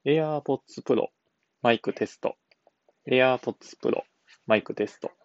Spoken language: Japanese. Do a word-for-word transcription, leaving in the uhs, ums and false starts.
AirPods Pro マイクテスト。AirPods Pro マイクテスト。